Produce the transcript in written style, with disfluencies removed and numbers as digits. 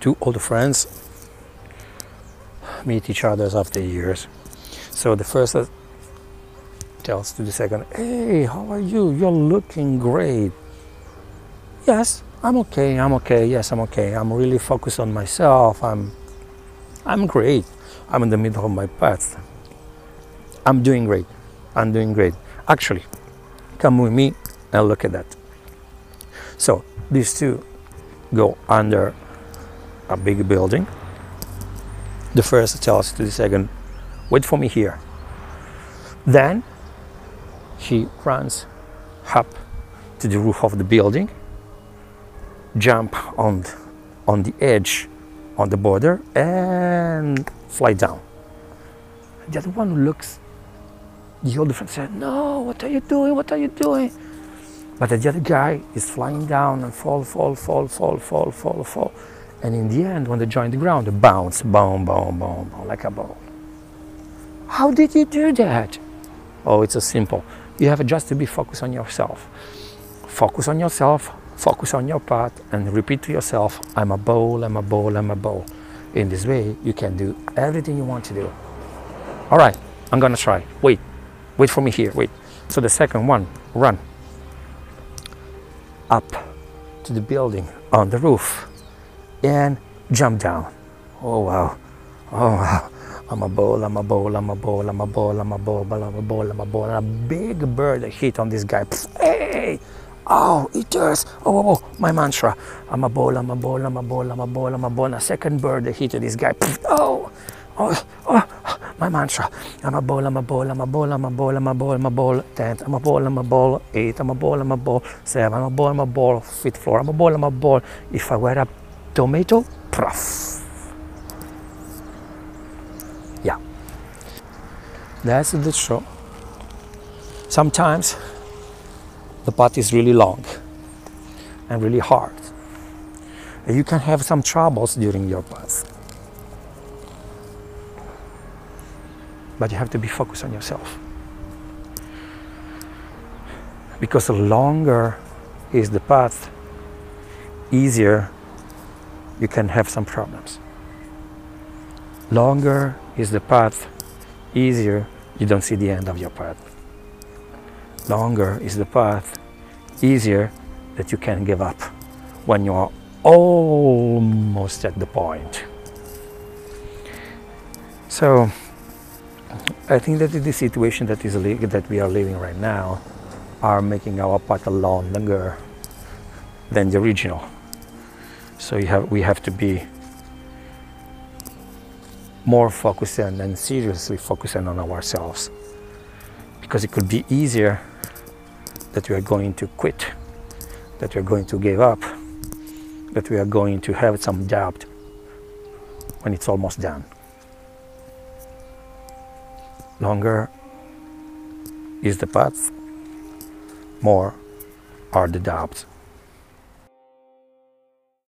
two old friends meet each other after years. So the first tells to the second, "Hey, how are you? You're looking great." "Yes, I'm okay. I'm okay. Yes, I'm okay. I'm really focused on myself. I'm great. I'm in the middle of my path. I'm doing great. I'm doing great. Actually, come with me and look at that." So these two go under a big building. The first tells to the second, "Wait for me here." Then he runs up to the roof of the building, jump on the edge, on the border, and fly down. The other one looks, the older friend said, "No, what are you doing? What are you doing?" But the other guy is flying down and fall. And in the end, when they join the ground, they bounce, boom, boom, boom, boom, like a ball. How did you do that? Oh, it's so simple. You have just to be focused on yourself. Focus on yourself, focus on your path, and repeat to yourself, "I'm a ball, I'm a ball, I'm a ball." In this way, you can do everything you want to do. All right, I'm gonna try. Wait for me here, wait. So the second one, run up to the building on the roof and jump down. Oh wow, oh wow. I'm a ball, I'm a ball, I'm a ball, I'm a ball, I'm a ball, I'm a ball, I'm a ball. And a big bird hit on this guy. Hey! Oh, it hurts. Oh, my mantra. I'm a ball, I'm a ball, I'm a ball, I'm a ball, I'm a ball. And a second bird hit this guy. Oh, my mantra. I'm a ball, I'm a ball, I'm a ball, I'm a ball, I'm a ball, I'm a ball. 10, I'm a ball, I'm a ball. 8, I'm a ball, I'm a ball. 7, I'm a ball, I'm a ball. 5th floor, I'm a ball, I'm a ball. If I were a tomato, prof. Yeah, that's the show. Sometimes the path is really long and really hard, and you can have some troubles during your path, but you have to be focused on yourself, because the longer is the path, easier you can have some problems. Longer is the path, easier you don't see the end of your path. Longer is the path, easier that you can give up when you are almost at the point. So I think that the situation that we are living right now are making our path a lot longer than the original. So we have to be more focused and seriously focusing on ourselves, because it could be easier that we are going to quit, that we are going to give up, that we are going to have some doubt when it's almost done. Longer is the path, more are the doubts.